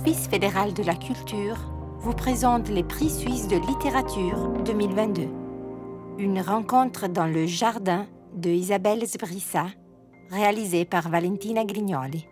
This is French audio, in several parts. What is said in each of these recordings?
l'Office fédéral de la culture vous présente les prix suisses de littérature 2022. Une rencontre dans le jardin de Isabelle Sbrissa, réalisée par Valentina Grignoli.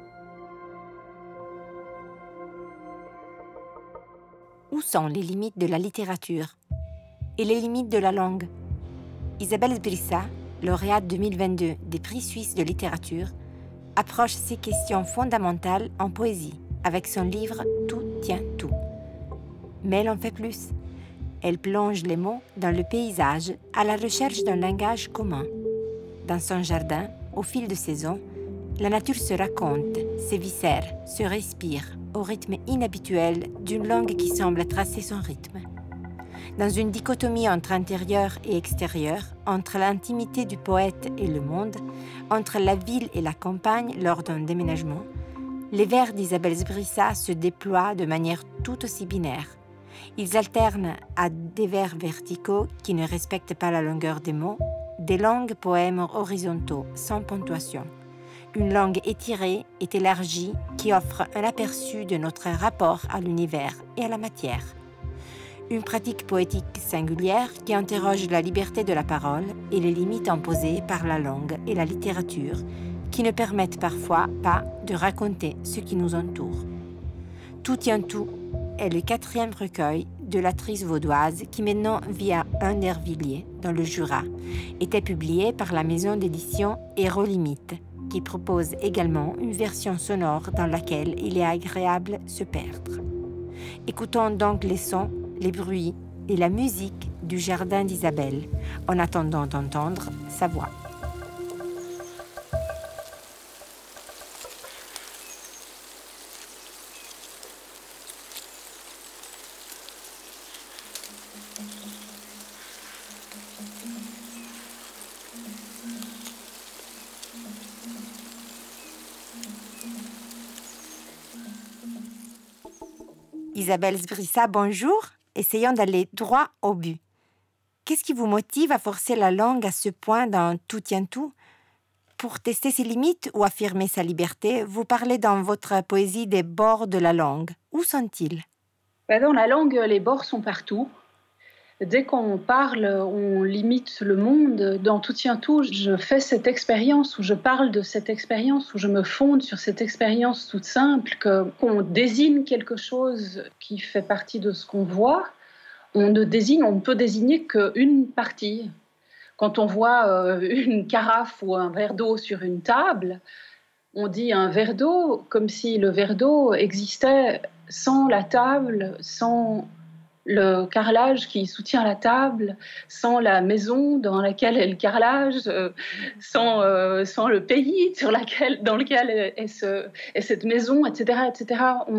Où sont les limites de la littérature et les limites de la langue? Isabelle Sbrissa, lauréate 2022 des prix suisses de littérature, approche ces questions fondamentales en poésie avec son livre « Tout tient tout ». Mais elle en fait plus. Elle plonge les mots dans le paysage à la recherche d'un langage commun. Dans son jardin, au fil de saisons, la nature se raconte, s'éviscère, se respire au rythme inhabituel d'une langue qui semble tracer son rythme. Dans une dichotomie entre intérieur et extérieur, entre l'intimité du poète et le monde, entre la ville et la campagne lors d'un déménagement, les vers d'Isabelle Sbrissa se déploient de manière tout aussi binaire. Ils alternent à des vers verticaux qui ne respectent pas la longueur des mots, des longs poèmes horizontaux sans ponctuation. Une langue étirée et élargie qui offre un aperçu de notre rapport à l'univers et à la matière. Une pratique poétique singulière qui interroge la liberté de la parole et les limites imposées par la langue et la littérature qui ne permettent parfois pas de raconter ce qui nous entoure. Tout tient tout est le 4e recueil de l'autrice vaudoise qui maintenant vit à Undervilliers, dans le Jura, était publié par la maison d'édition Hérolimite, qui propose également une version sonore dans laquelle il est agréable se perdre. Écoutons donc les sons, les bruits et la musique du jardin d'Isabelle, en attendant d'entendre sa voix. Isabelle Sbrissa, bonjour. Essayons d'aller droit au but. Qu'est-ce qui vous motive à forcer la langue à ce point dans Tout tient tout? Pour tester ses limites ou affirmer sa liberté, vous parlez dans votre poésie des bords de la langue. Où sont-ils? Dans la langue, les bords sont partout. Dès qu'on parle, on limite le monde. Dans Tout tient tout, je fais cette expérience, où je parle de cette expérience, où je me fonde sur cette expérience toute simple, qu'on désigne quelque chose qui fait partie de ce qu'on voit. On ne peut désigner qu'une partie. Quand on voit une carafe ou un verre d'eau sur une table, on dit un verre d'eau comme si le verre d'eau existait sans la table, sans le carrelage qui soutient la table, sans la maison dans laquelle est le carrelage, sans le pays dans lequel est cette maison, etc. etc.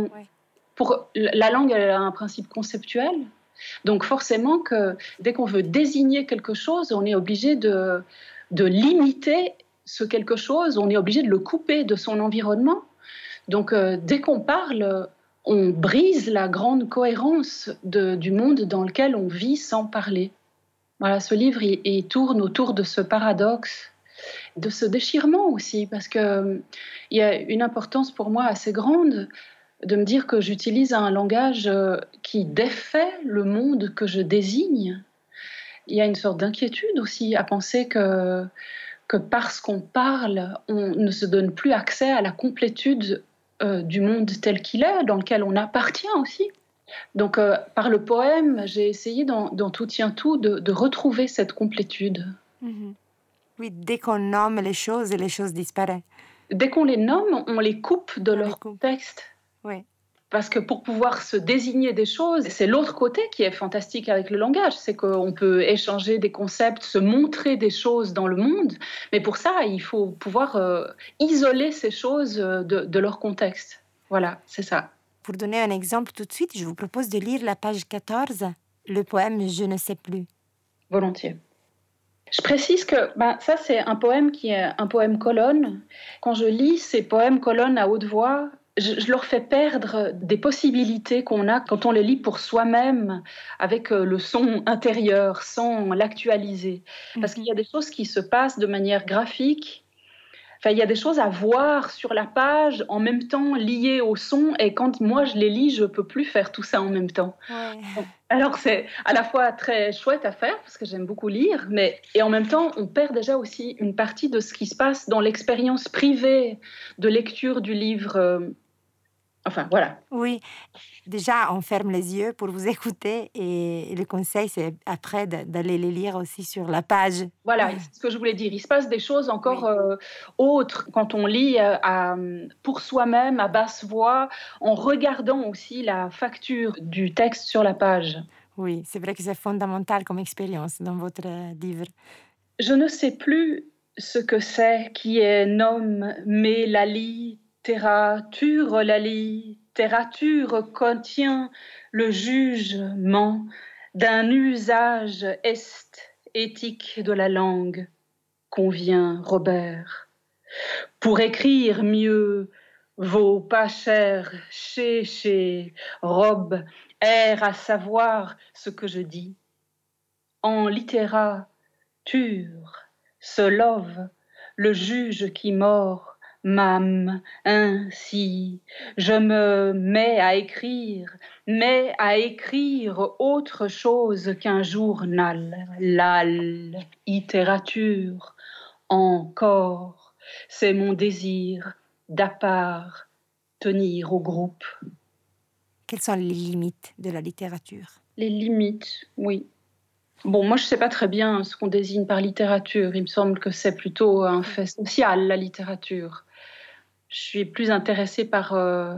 La langue, elle a un principe conceptuel. Donc forcément, dès qu'on veut désigner quelque chose, on est obligé de limiter ce quelque chose, on est obligé de le couper de son environnement. Donc dès qu'on parle, on brise la grande cohérence du monde dans lequel on vit sans parler. Voilà, ce livre, il tourne autour de ce paradoxe, de ce déchirement aussi, parce qu'il y a une importance pour moi assez grande de me dire que j'utilise un langage qui défait le monde que je désigne. Il y a une sorte d'inquiétude aussi à penser que parce qu'on parle, on ne se donne plus accès à la complétude du monde tel qu'il est, dans lequel on appartient aussi. Donc, par le poème, j'ai essayé dans Tout tient tout de retrouver cette complétude. Mm-hmm. Oui, dès qu'on nomme les choses disparaissent. Dès qu'on les nomme, on les coupe de leur contexte. Oui. Parce que pour pouvoir se désigner des choses, c'est l'autre côté qui est fantastique avec le langage, c'est qu'on peut échanger des concepts, se montrer des choses dans le monde, mais pour ça, il faut pouvoir isoler ces choses de leur contexte. Voilà, c'est ça. Pour donner un exemple tout de suite, je vous propose de lire la page 14, le poème « Je ne sais plus ». Volontiers. Je précise que ça, c'est un poème qui est un poème colonne. Quand je lis ces poèmes colonnes à haute voix, je leur fais perdre des possibilités qu'on a quand on les lit pour soi-même, avec le son intérieur, sans l'actualiser. Parce qu'il y a des choses qui se passent de manière graphique, Enfin, il y a des choses à voir sur la page en même temps liées au son, et quand moi je les lis, je peux plus faire tout ça en même temps. Ouais. Alors c'est à la fois très chouette à faire parce que j'aime beaucoup lire, mais et en même temps on perd déjà aussi une partie de ce qui se passe dans l'expérience privée de lecture du livre. Enfin voilà. Oui, déjà, on ferme les yeux pour vous écouter et le conseil, c'est après d'aller les lire aussi sur la page. Voilà, c'est ce que je voulais dire. Il se passe des choses encore Oui, autres quand on lit pour soi-même, à basse voix, en regardant aussi la facture du texte sur la page. oui, c'est vrai que c'est fondamental comme expérience dans votre livre. Je ne sais plus ce que c'est qui est nomme, mais la littérature contient le jugement d'un usage esthétique de la langue, convient Robert. Pour écrire mieux, vaut pas cher chez robe, air à savoir ce que je dis. En littérature, se love, le juge qui mord, m'âme ainsi. Je me mets à écrire autre chose qu'un journal, la littérature, encore. C'est mon désir d'appartenir au groupe. Quelles sont les limites de la littérature? Les limites, oui. Bon, moi, je ne sais pas très bien ce qu'on désigne par littérature. Il me semble que c'est plutôt un fait social, la littérature. Je suis plus intéressée par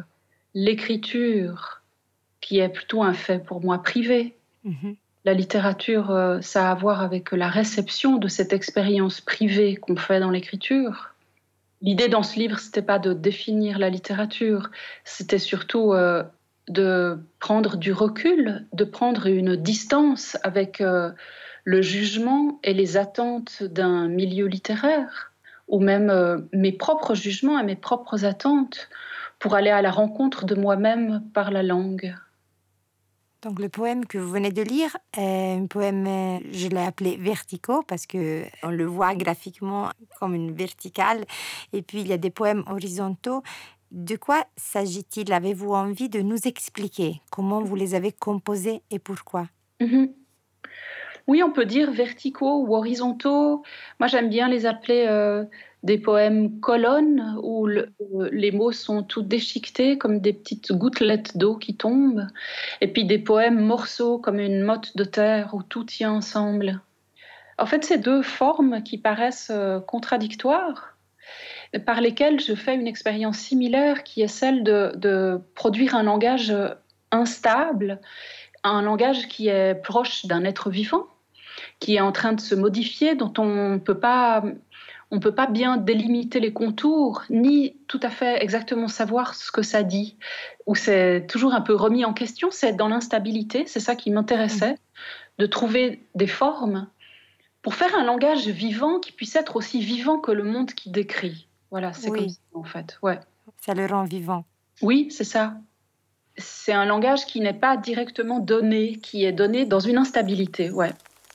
l'écriture, qui est plutôt un fait pour moi privé. Mhm. La littérature, ça a à voir avec la réception de cette expérience privée qu'on fait dans l'écriture. L'idée dans ce livre, c'était pas de définir la littérature, c'était surtout de prendre du recul, de prendre une distance avec le jugement et les attentes d'un milieu littéraire, ou même mes propres jugements et mes propres attentes, pour aller à la rencontre de moi-même par la langue. Donc le poème que vous venez de lire est un poème, je l'ai appelé verticaux parce que on le voit graphiquement comme une verticale. Et puis il y a des poèmes horizontaux. De quoi s'agit-il? Avez-vous envie de nous expliquer comment vous les avez composés et pourquoi? Mhm. Oui, on peut dire verticaux ou horizontaux. Moi, j'aime bien les appeler des poèmes colonnes où les mots sont tout déchiquetés comme des petites gouttelettes d'eau qui tombent. Et puis des poèmes morceaux comme une motte de terre où tout tient ensemble. En fait, c'est deux formes qui paraissent contradictoires, par lesquelles je fais une expérience similaire qui est celle de produire un langage instable, un langage qui est proche d'un être vivant, qui est en train de se modifier, dont on peut pas bien délimiter les contours, ni tout à fait exactement savoir ce que ça dit, où c'est toujours un peu remis en question, c'est dans l'instabilité, c'est ça qui m'intéressait, de trouver des formes pour faire un langage vivant qui puisse être aussi vivant que le monde qui décrit. Voilà, c'est comme Oui, ça en fait, ouais. ça le rend vivant. Oui, c'est ça. C'est un langage qui n'est pas directement donné, qui est donné dans une instabilité, ouais.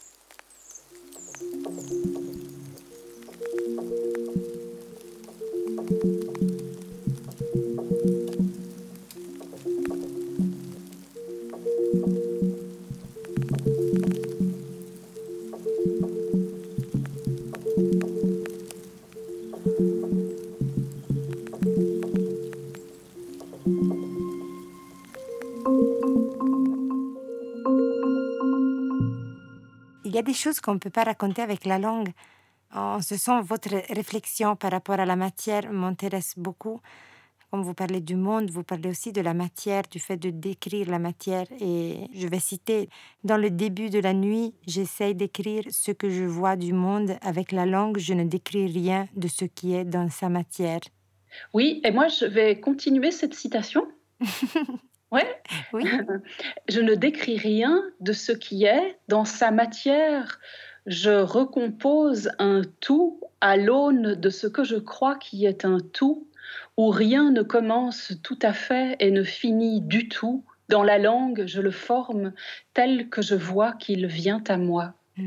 Il y a des choses qu'on ne peut pas raconter avec la langue. En ce sens, votre réflexion par rapport à la matière m'intéresse beaucoup. Comme vous parlez du monde, vous parlez aussi de la matière, du fait de décrire la matière. Et je vais citer, dans le début de la nuit, j'essaye d'écrire ce que je vois du monde. Avec la langue, je ne décris rien de ce qui est dans sa matière. Oui, et moi je vais continuer cette citation. Ouais. Oui, Je ne décris rien de ce qui est dans sa matière. Je recompose un tout à l'aune de ce que je crois qui est un tout, où rien ne commence tout à fait et ne finit du tout. Dans la langue, je le forme tel que je vois qu'il vient à moi.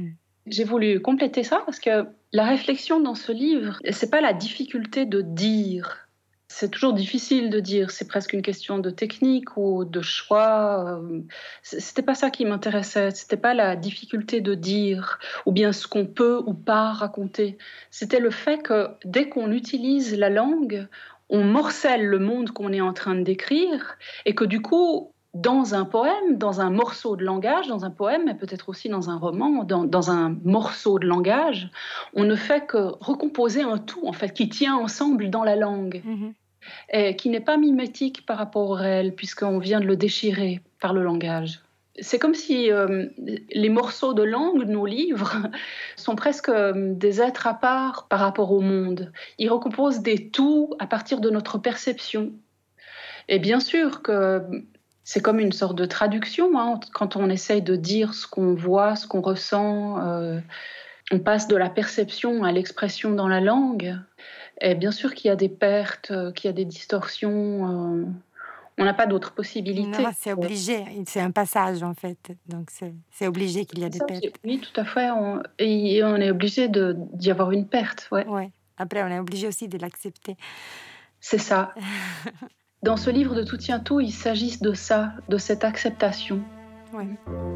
J'ai voulu compléter ça parce que la réflexion dans ce livre, c'est pas la difficulté de dire. C'est toujours difficile de dire, c'est presque une question de technique ou de choix. C'était pas ça qui m'intéressait, c'était pas la difficulté de dire ou bien ce qu'on peut ou pas raconter. C'était le fait que dès qu'on utilise la langue, on morcelle le monde qu'on est en train de décrire et que du coup, dans un poème, dans un morceau de langage, dans un poème, mais peut-être aussi dans un roman, dans un morceau de langage, on ne fait que recomposer un tout, en fait, qui tient ensemble dans la langue, et qui n'est pas mimétique par rapport au réel, puisqu'on vient de le déchirer par le langage. C'est comme si les morceaux de langue, nos livres, sont presque des êtres à part par rapport au monde. Ils recomposent des tout à partir de notre perception. Et bien sûr que c'est comme une sorte de traduction, hein, quand on essaye de dire ce qu'on voit, ce qu'on ressent. On passe de la perception à l'expression dans la langue. Et bien sûr qu'il y a des pertes, qu'il y a des distorsions. On n'a pas d'autre possibilité. Non, c'est obligé. C'est un passage, en fait. Donc, c'est obligé qu'il y a des pertes. Oui, tout à fait. Et on est obligé d'y avoir une perte. Ouais. Ouais. Après, on est obligé aussi de l'accepter. C'est ça. Dans ce livre de Tout tient tout, il s'agit de ça, de cette acceptation. Ouais.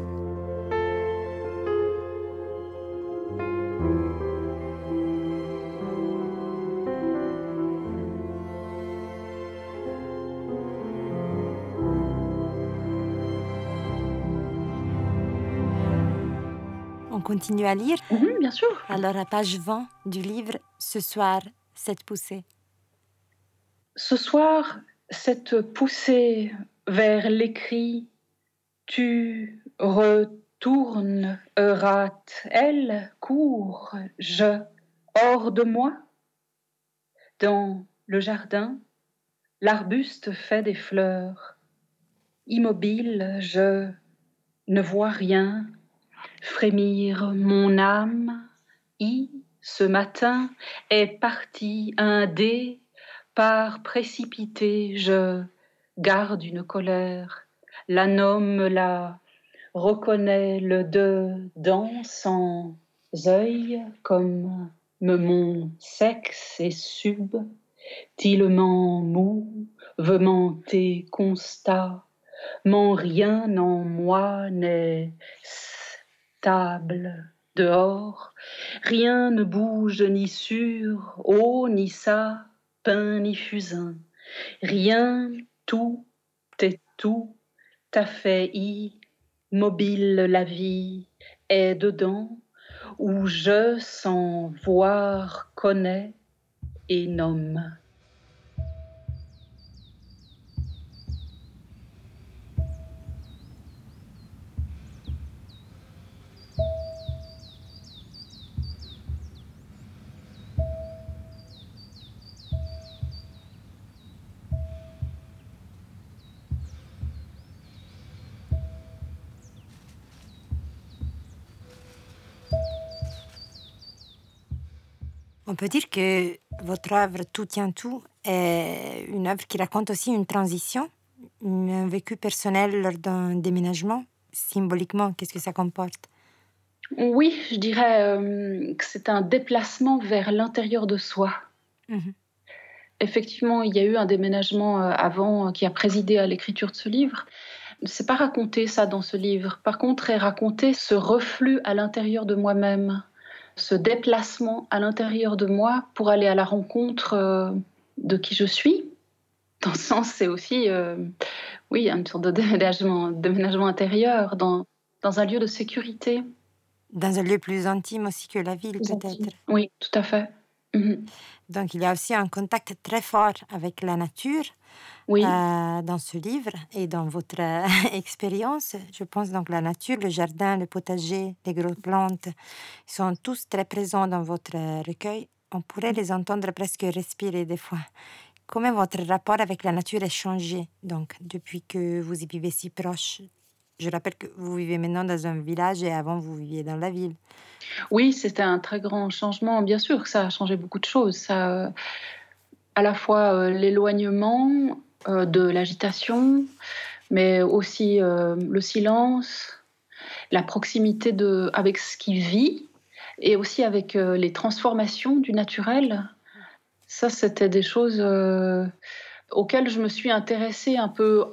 On continue à lire? Bien sûr. Alors, à page 20 du livre, ce soir, cette poussée. Ce soir, cette poussée vers l'écrit, tu retournes, rate, elle court, je, hors de moi. Dans le jardin, l'arbuste fait des fleurs. Immobile, je ne vois rien. Frémir mon âme, ce matin, est parti un dé, par précipité, je garde une colère, la nomme, la reconnaît le dedans sans œil, comme mon sexe est subtilement mou, vehementé constat, mon rien en moi n'est stable dehors, rien ne bouge ni sur eau ni ça, pain ni fusain, rien, tout est tout à fait immobile, la vie est dedans, où je sans voir connais et nomme. On peut dire que votre œuvre Tout tient tout est une œuvre qui raconte aussi une transition, un vécu personnel lors d'un déménagement. Symboliquement, qu'est-ce que ça comporte? Oui, je dirais que c'est un déplacement vers l'intérieur de soi. Effectivement, il y a eu un déménagement avant qui a présidé à l'écriture de ce livre. C'est pas raconté ça dans ce livre. Par contre, est raconté ce reflux à l'intérieur de moi-même, ce déplacement à l'intérieur de moi pour aller à la rencontre de qui je suis. Dans ce sens, c'est aussi, oui, une sorte de déménagement intérieur dans un lieu de sécurité. Dans un lieu plus intime aussi que la ville, peut-être. Oui, tout à fait. Donc, il y a aussi un contact très fort avec la nature dans ce livre et dans votre expérience. Je pense donc la nature, le jardin, le potager, les grosses plantes sont tous très présents dans votre recueil. On pourrait les entendre presque respirer des fois. Comment votre rapport avec la nature a changé donc, depuis que vous y vivez si proche? Je rappelle que vous vivez maintenant dans un village et avant vous viviez dans la ville. Oui, c'était un très grand changement. Bien sûr que ça a changé beaucoup de choses. Ça, à la fois l'éloignement de l'agitation, mais aussi le silence, la proximité avec ce qui vit. et aussi avec les transformations du naturel. Ça, c'était des choses auxquelles je me suis intéressée un peu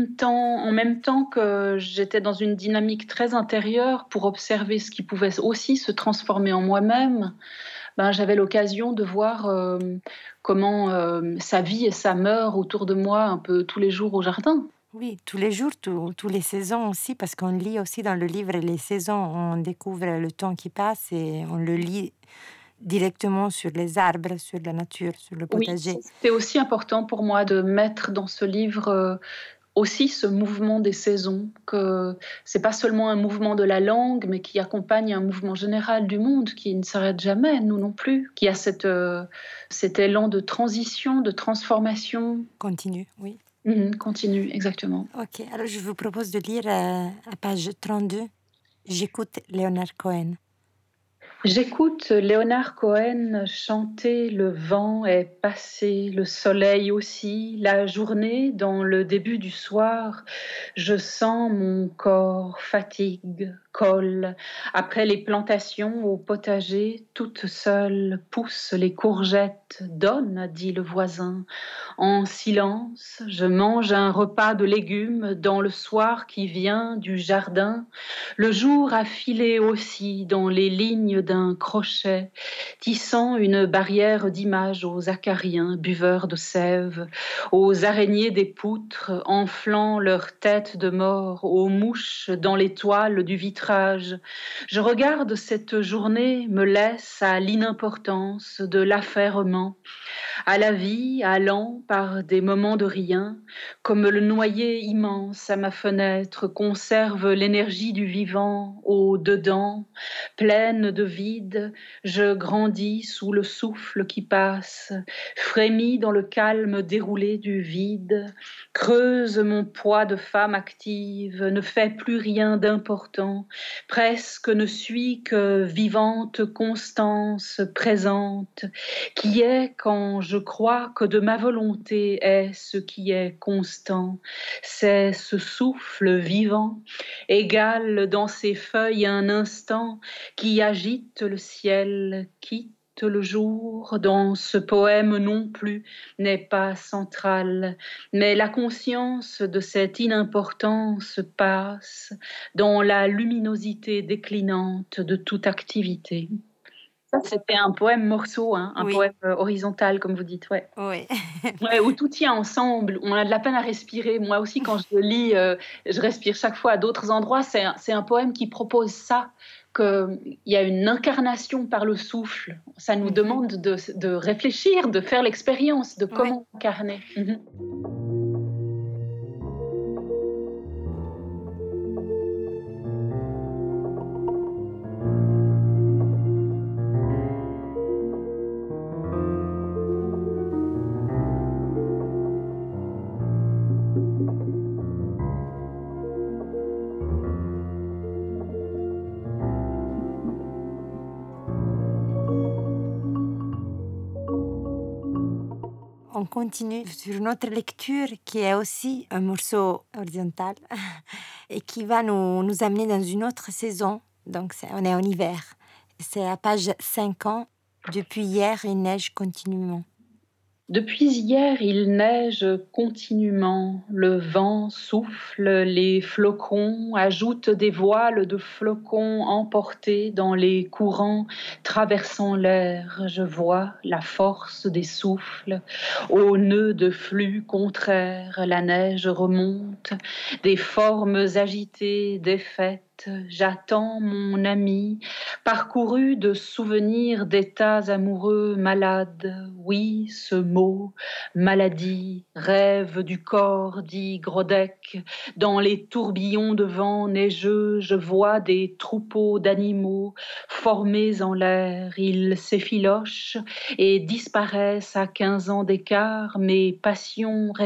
en même temps que j'étais dans une dynamique très intérieure pour observer ce qui pouvait aussi se transformer en moi-même. Ben, j'avais l'occasion de voir comment ça vit et ça meurt autour de moi un peu tous les jours au jardin. Oui, tous les jours, tous les saisons aussi, parce qu'on lit aussi dans le livre les saisons, on découvre le temps qui passe et on le lit directement sur les arbres, sur la nature, sur le Oui, potager. c'était aussi important pour moi de mettre dans ce livre aussi ce mouvement des saisons, que c'est pas seulement un mouvement de la langue, mais qui accompagne un mouvement général du monde qui ne s'arrête jamais, nous non plus, qui a cet élan de transition, de transformation. Continue, oui. Continue, exactement. Ok, alors je vous propose de lire à page 32. J'écoute Leonard Cohen. J'écoute Léonard Cohen chanter le vent est passé, le soleil aussi, la journée dans le début du soir. Je sens mon corps fatigue, colle. Après les plantations au potager, toute seule pousse les courgettes, donne, dit le voisin. En silence, je mange un repas de légumes dans le soir qui vient du jardin. Le jour a filé aussi dans les lignes d'un crochet, tissant une barrière d'images aux acariens, buveurs de sève, aux araignées des poutres, enflant leurs têtes de mort, aux mouches dans les toiles du vitrage. Je regarde cette journée, me laisse à l'inimportance de l'affairement, à la vie allant par des moments de rien, comme le noyer immense à ma fenêtre conserve l'énergie du vivant au dedans, pleine de vide, je grandis sous le souffle qui passe, frémis dans le calme déroulé du vide, creuse mon poids de femme active, ne fait plus rien d'important, presque ne suis que vivante constance présente, qui est quand je crois que de ma volonté est ce qui est constant. C'est ce souffle vivant, égal dans ses feuilles un instant, qui agite le ciel, quitte le jour, dans ce poème non plus n'est pas central, mais la conscience de cette inimportance passe dans la luminosité déclinante de toute activité. Ça, c'était un poème morceau, hein, un Oui, poème horizontal, comme vous dites, ouais. oui. Ouais, où tout tient ensemble, on a de la peine à respirer. Moi aussi, quand je le lis, je respire chaque fois à d'autres endroits. C'est un poème qui propose ça, qu'il y a une incarnation par le souffle. Ça nous Mhm. demande de réfléchir, de faire l'expérience de Ouais. comment incarner. On continue sur notre lecture qui est aussi un morceau horizontal et qui va nous amener dans une autre saison. Donc on est en hiver. C'est à page 50. Depuis hier, il neige continuellement. Depuis hier, il neige continuellement, le vent souffle, les flocons ajoutent des voiles de flocons emportés dans les courants traversant l'air. Je vois la force des souffles, au nœud de flux contraires, la neige remonte, des formes agitées, défaites. J'attends mon ami, parcouru de souvenirs d'états amoureux malades. Oui, ce mot, maladie, rêve du corps, dit Grodek. Dans les tourbillons de vent neigeux, je vois des troupeaux d'animaux formés en l'air. Ils s'effilochent et disparaissent à 15 ans d'écart. Mes passions répètent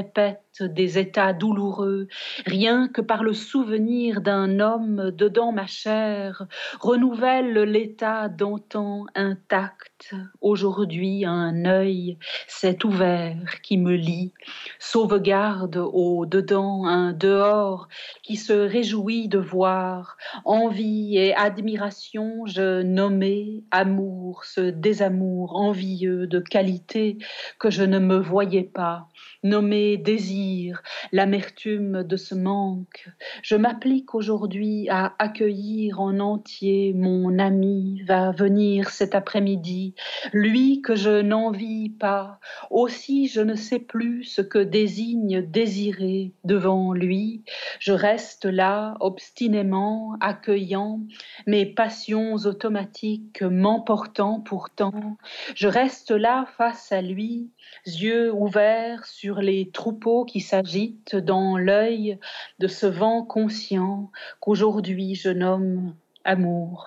acte des états douloureux, rien que par le souvenir d'un homme dedans ma chair, renouvelle l'état d'antan intact. Aujourd'hui, un œil s'est ouvert qui me lie, sauvegarde au dedans un dehors qui se réjouit de voir, envie et admiration, je nommais amour, ce désamour envieux de qualité que je ne me voyais pas, nommé désir, l'amertume de ce manque. Je m'applique aujourd'hui à accueillir en entier mon ami, va venir cet après-midi, lui que je n'envie pas, aussi je ne sais plus ce que désigne désirer devant lui. Je reste là, obstinément, accueillant, mes passions automatiques m'emportant pourtant. Je reste là face à lui, yeux ouverts sur les troupeaux qui s'agitent dans l'œil de ce vent conscient qu'aujourd'hui je nomme amour.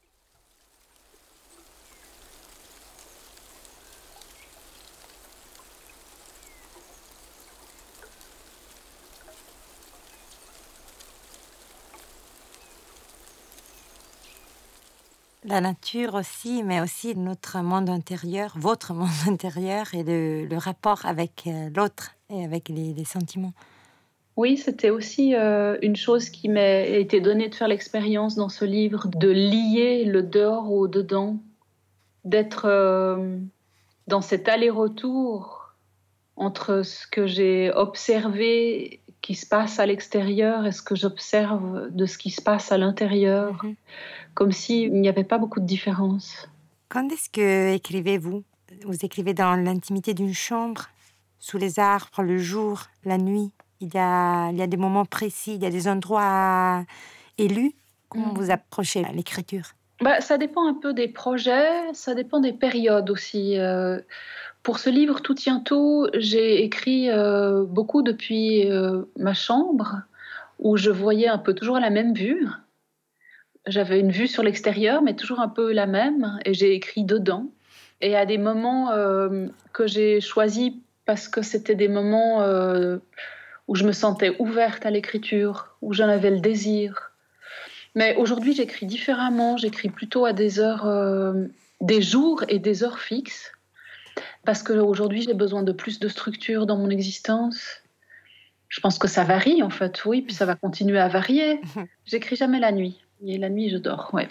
La nature aussi, mais aussi notre monde intérieur, votre monde intérieur et le rapport avec l'autre et avec les sentiments. Oui, c'était aussi une chose qui m'a été donnée de faire l'expérience dans ce livre, de lier le dehors au dedans, d'être dans cet aller-retour entre ce que j'ai observé qui se passe à l'extérieur et ce que j'observe de ce qui se passe à l'intérieur, comme s'il n'y avait pas beaucoup de différence. Quand est-ce que écrivez-vous? Vous écrivez dans l'intimité d'une chambre, sous les arbres, le jour, la nuit? Il y a des moments précis, il y a des endroits élus. Comment vous approchez l'écriture? Ça dépend un peu des projets, ça dépend des périodes aussi. Pour ce livre Tout tient tout, j'ai écrit beaucoup depuis ma chambre, où je voyais un peu toujours la même vue. J'avais une vue sur l'extérieur, mais toujours un peu la même, et j'ai écrit dedans. Et à des moments que j'ai choisis parce que c'était des moments où je me sentais ouverte à l'écriture, où j'en avais le désir. Mais aujourd'hui, j'écris différemment. J'écris plutôt à des heures, des jours et des heures fixes, parce qu'aujourd'hui, j'ai besoin de plus de structure dans mon existence. Je pense que ça varie, en fait, oui, puis ça va continuer à varier. J'écris jamais la nuit. Et la nuit, je dors, ouais.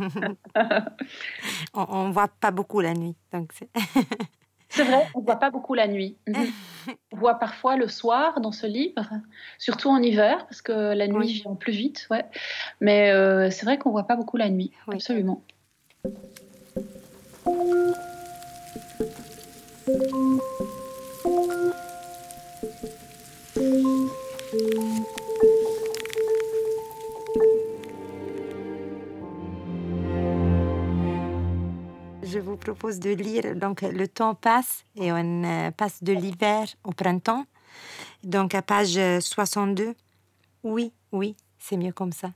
On voit pas beaucoup la nuit, donc c'est... C'est vrai, on voit pas beaucoup la nuit. On voit parfois le soir dans ce livre, surtout en hiver, parce que la nuit vient plus vite, ouais. Mais c'est vrai qu'on voit pas beaucoup la nuit, oui. Absolument. Je vous propose de lire, donc le temps passe et on passe de l'hiver au printemps. Donc à page 62, oui, c'est mieux comme ça.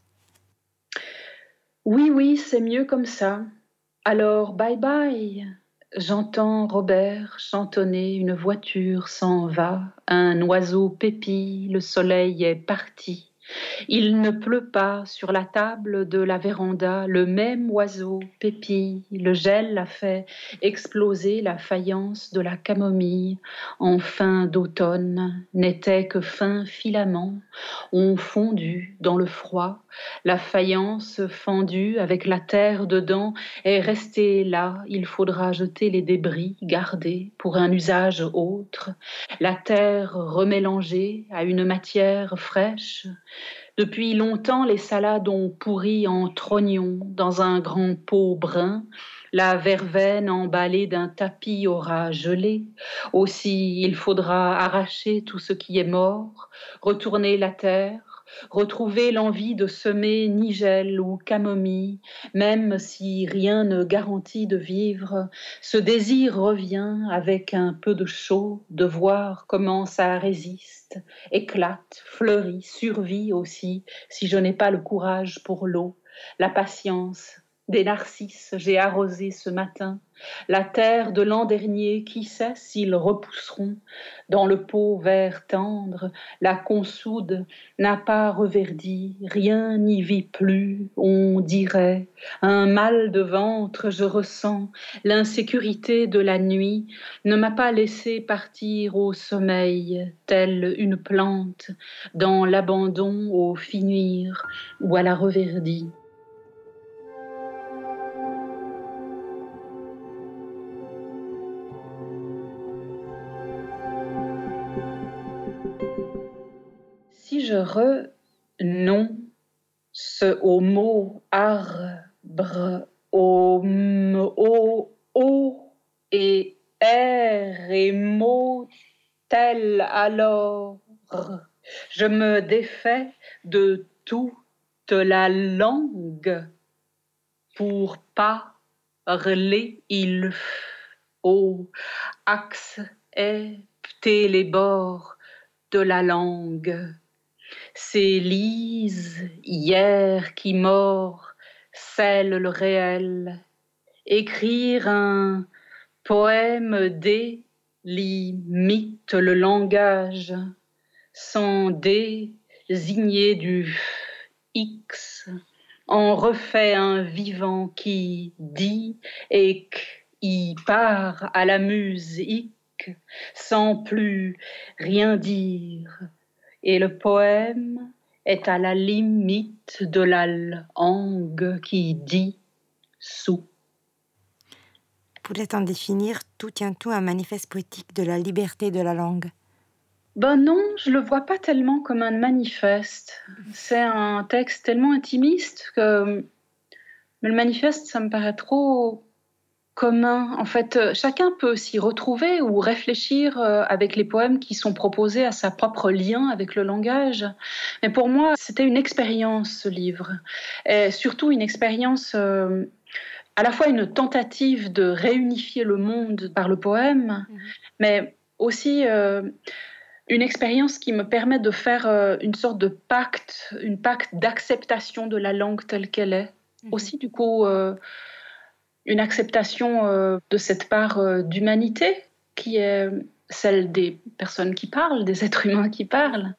Oui, c'est mieux comme ça. Alors, bye bye. J'entends Robert chantonner, une voiture s'en va, un oiseau pépille, le soleil est parti. Il ne pleut pas sur la table de la véranda, le même oiseau pépille, le gel a fait exploser la faïence de la camomille. En fin d'automne, n'était que fin filament, ont fondu dans le froid, la faïence fendue avec la terre dedans est restée là, il faudra jeter les débris gardés pour un usage autre, la terre remélangée à une matière fraîche. Depuis longtemps, les salades ont pourri en trognons dans un grand pot brun. La verveine emballée d'un tapis aura gelé. Aussi, il faudra arracher tout ce qui est mort, retourner la terre, retrouver l'envie de semer nigel ou camomille, même si rien ne garantit de vivre. Ce désir revient avec un peu de chaud, de voir comment ça résiste, éclate, fleurit, survit aussi, si je n'ai pas le courage pour l'eau, la patience Des narcisses j'ai arrosé ce matin. La terre de l'an dernier, qui sait s'ils repousseront. Dans le pot vert tendre, la consoude n'a pas reverdi, rien n'y vit plus, on dirait. Un mal de ventre je ressens, l'insécurité de la nuit ne m'a pas laissé partir au sommeil, telle une plante, dans l'abandon au finir ou à la reverdie. Si je renonce au mot arbre, au et r et mot tel alors, je me défais de toute la langue pour parler, il faut accepter les bords de la langue. C'est Lise, hier, qui mord, scelle le réel. Écrire un poème délimite le langage, sans désigner du X. On refait un vivant qui dit et qui part à la musique, sans plus rien dire. Et le poème est à la limite de la langue qui dit sous. Pourrait-on définir Tout tient tout un manifeste poétique de la liberté de la langue? Ben non, je le vois pas tellement comme un manifeste. C'est un texte tellement intimiste que... Mais le manifeste, ça me paraît trop commun. En fait, chacun peut s'y retrouver ou réfléchir avec les poèmes qui sont proposés à sa propre lien avec le langage. Mais pour moi, c'était une expérience, ce livre. Et surtout une expérience, à la fois une tentative de réunifier le monde par le poème, mais aussi une expérience qui me permet de faire une sorte de pacte, une pacte d'acceptation de la langue telle qu'elle est. Aussi, du coup... une acceptation de cette part d'humanité qui est celle des personnes qui parlent, des êtres humains qui parlent,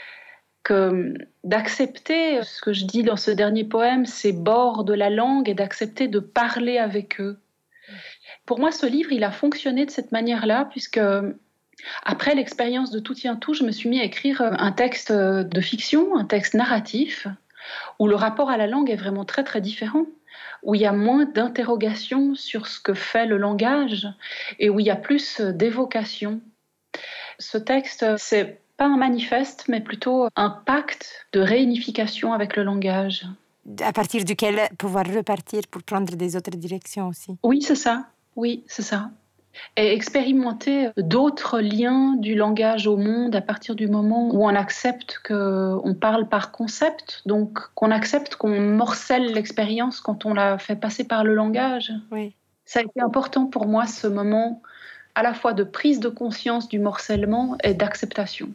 que d'accepter ce que je dis dans ce dernier poème, ces bords de la langue et d'accepter de parler avec eux. Pour moi, ce livre, il a fonctionné de cette manière-là, puisque après l'expérience de Tout tient tout, je me suis mis à écrire un texte de fiction, un texte narratif, où le rapport à la langue est vraiment très très différent, où il y a moins d'interrogations sur ce que fait le langage et où il y a plus d'évocation. Ce texte, c'est pas un manifeste, mais plutôt un pacte de réunification avec le langage. À partir duquel pouvoir repartir pour prendre des autres directions aussi. Oui, c'est ça. Oui, c'est ça. Et expérimenter d'autres liens du langage au monde à partir du moment où on accepte qu'on parle par concept, donc qu'on accepte qu'on morcelle l'expérience quand on la fait passer par le langage. Oui. Ça a été important pour moi, ce moment à la fois de prise de conscience du morcellement et d'acceptation.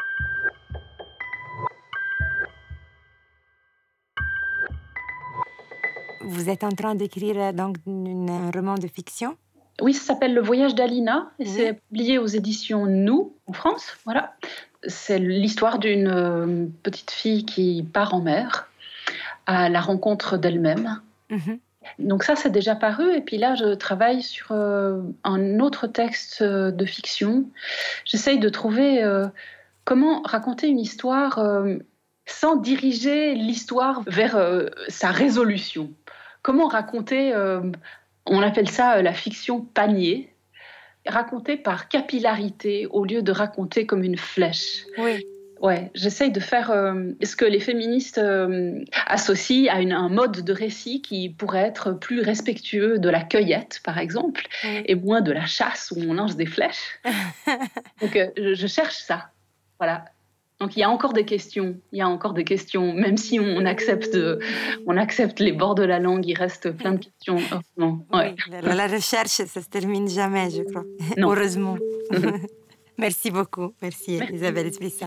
Vous êtes en train d'écrire donc un roman de fiction? Oui, ça s'appelle Le voyage d'Alina et c'est publié aux éditions Nous, en France. Voilà. C'est l'histoire d'une petite fille qui part en mer à la rencontre d'elle-même. Donc ça, c'est déjà paru. Et puis là, je travaille sur un autre texte de fiction. J'essaye de trouver comment raconter une histoire sans diriger l'histoire vers sa résolution. Comment raconter... on appelle ça la fiction panier, raconter par capillarité au lieu de raconter comme une flèche. Oui. Ouais, j'essaye de faire ce que les féministes associent à un mode de récit qui pourrait être plus respectueux de la cueillette, par exemple, et moins de la chasse où on lance des flèches. Donc, je cherche ça. Voilà. Donc il y a encore des questions, même si on accepte les bords de la langue, il reste plein de questions. Ouais. Oui, la recherche, ça se termine jamais, je crois. Non. Heureusement. Merci beaucoup. Merci. Isabelle Esprissa.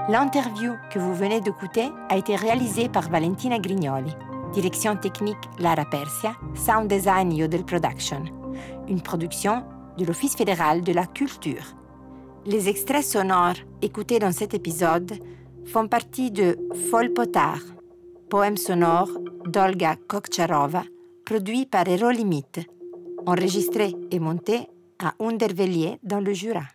L'interview que vous venez d'écouter a été réalisée par Valentina Grignoli. Direction technique Lara Persia, sound design Yodel Production. Une production de l'Office fédéral de la culture. Les extraits sonores écoutés dans cet épisode font partie de Fol Potard, poème sonore d'Olga Kokcharova, produit par Eurolimit, enregistré et monté à Undervellier dans le Jura.